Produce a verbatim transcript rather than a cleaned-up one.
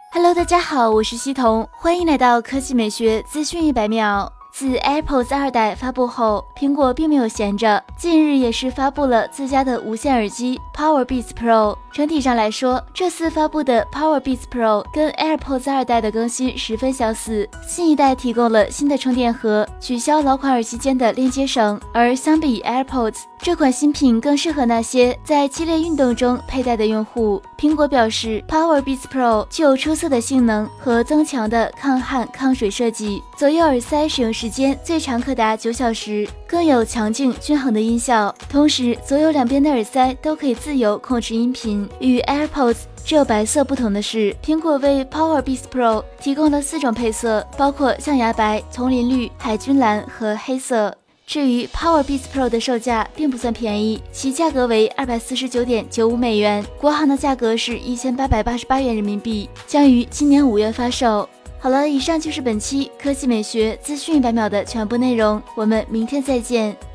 Hello， 大家好，我是西彤，欢迎来到科技美学资讯一百秒。自 AirPods 二代发布后，苹果并没有闲着，近日也是发布了自家的无线耳机 Powerbeats Pro。整体上来说，这次发布的 Powerbeats Pro 跟 AirPods 二代的更新十分相似，新一代提供了新的充电盒，取消老款耳机间的连接绳，而相比 AirPods， 这款新品更适合那些在激烈运动中佩戴的用户。苹果表示 ，Powerbeats Pro 具有出色的性能和增强的抗汗抗水设计，左右耳塞使用时间最长可达九小时，更有强劲均衡的音效。同时，左右两边的耳塞都可以自由控制音频。与 AirPods 只有白色不同的是，苹果为 Powerbeats Pro 提供了四种配色，包括象牙白、丛林绿、海军蓝和黑色。至于 Powerbeats Pro 的售价并不算便宜，其价格为 二百四十九点九五美元，国行的价格是一千八百八十八元人民币，将于今年五月发售。好了，以上就是本期科技美学资讯一百秒的全部内容，我们明天再见。